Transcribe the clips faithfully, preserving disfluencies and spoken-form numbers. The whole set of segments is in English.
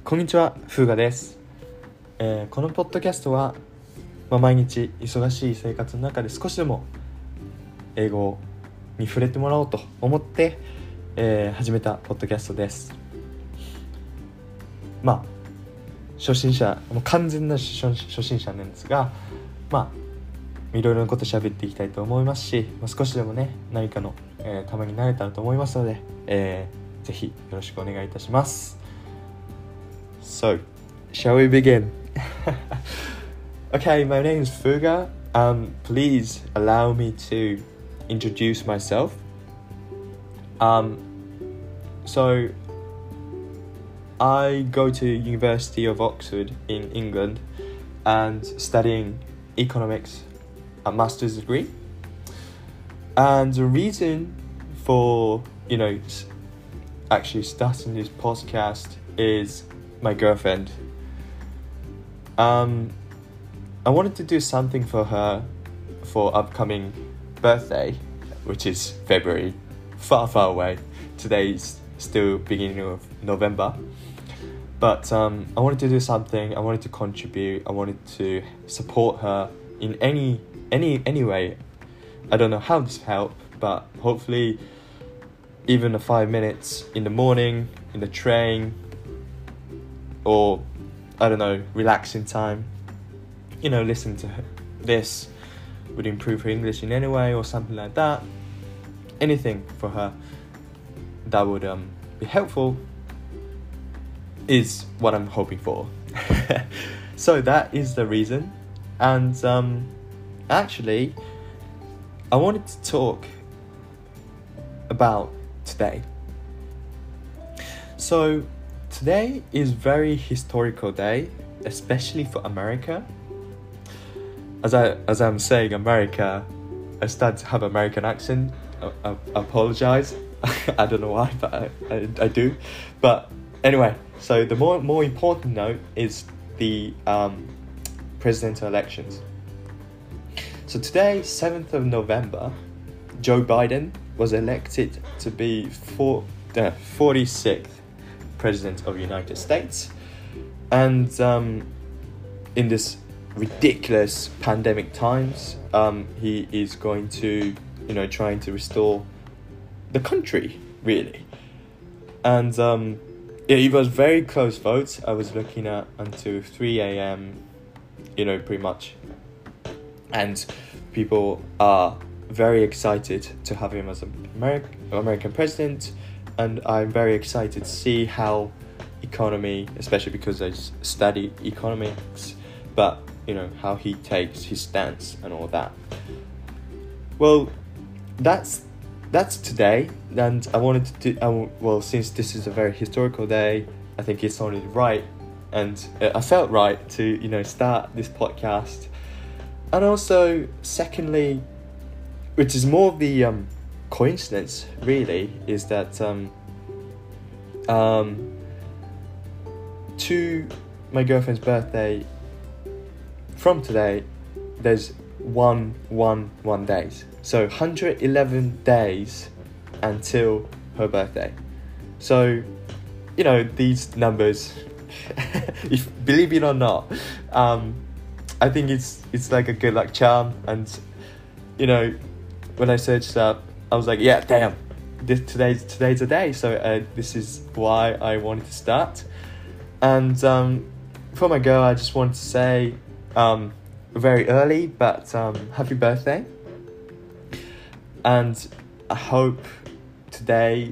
こんにちは、フーガです、えー、このポッドキャストは、まあ、毎日忙しい生活の中で少しでも英語に触れてもらおうと思って、えー、始めたポッドキャストです。まあ初心者、もう完全な初心者なんですが、まあいろいろなこと喋っていきたいと思いますし、まあ、少しでもね何かの、えー、ためになれたらと思いますので、えー、ぜひよろしくお願いいたします。So, shall we begin? Okay, my name is Fuga. Um, please allow me to introduce myself. Um, so, I go to University of Oxford in England and studying economics, a master's degree. And the reason for, you know, actually starting this podcast is my girlfriend. Um, I wanted to do something for her for upcoming birthday, which is February, far, far away. Today's still beginning of November. But um, I wanted to do something. I wanted to contribute. I wanted to support her in any any any way. I don't know how this helped, but hopefully, even a five minutes in the morning, in the train, or I don't know, relaxing time, you know, listening to this would improve her English in any way or something like that. Anything for her that would um, be helpful is what I'm hoping for. So that is the reason. And um, actually, I wanted to talk about today. So today is very historical day, especially for America. As I as I'm saying America, I start to have American accent. I, I, I apologize. I don't know why, but I, I, I do. But anyway, so the more more important note is the um, presidential elections. So today, seventh of November, Joe Biden was elected to be for the forty-sixth president of the United States, and um, in this ridiculous pandemic times, um, he is going to, you know, trying to restore the country, really. And um, yeah, it was very close votes. I was looking at until three a.m, you know, pretty much. And people are very excited to have him as an American, American president. And I'm very excited to see how economy, especially because I study economics, but, you know, how he takes his stance and all that. Well, that's that's today, and I wanted to do, uh, well, since this is a very historical day, I think it's only right, and I felt right to, you know, start this podcast. And also, secondly, which is more of the um, coincidence, really, is that um, um, to my girlfriend's birthday, from today, there's one, one, one days. So one hundred eleven days until her birthday. So, you know, these numbers, if believe it or not, um, I think it's it's like a good luck charm. And, you know, when I searched up, I was like, yeah, damn, this today's today's a day. So uh, this is why I wanted to start. And um, for my girl, I just wanted to say, um, very early, but um, happy birthday. And I hope today,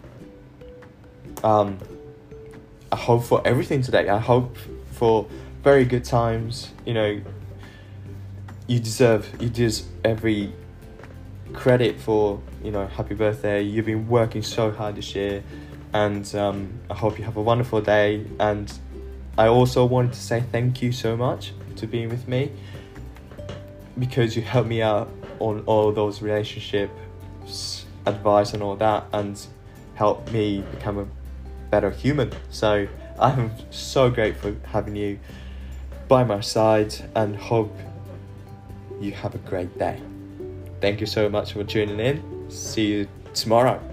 um, I hope for everything today. I hope for very good times. You know, you deserve, you deserve every credit for, you know, happy birthday. You've been working so hard this year, and um, I hope you have a wonderful day. And I also wanted to say thank you so much to being with me, because you helped me out on all those relationships, advice and all that, and helped me become a better human. So I'm so grateful having you by my side, and hope you have a great day. Thank you so much for tuning in. See you tomorrow.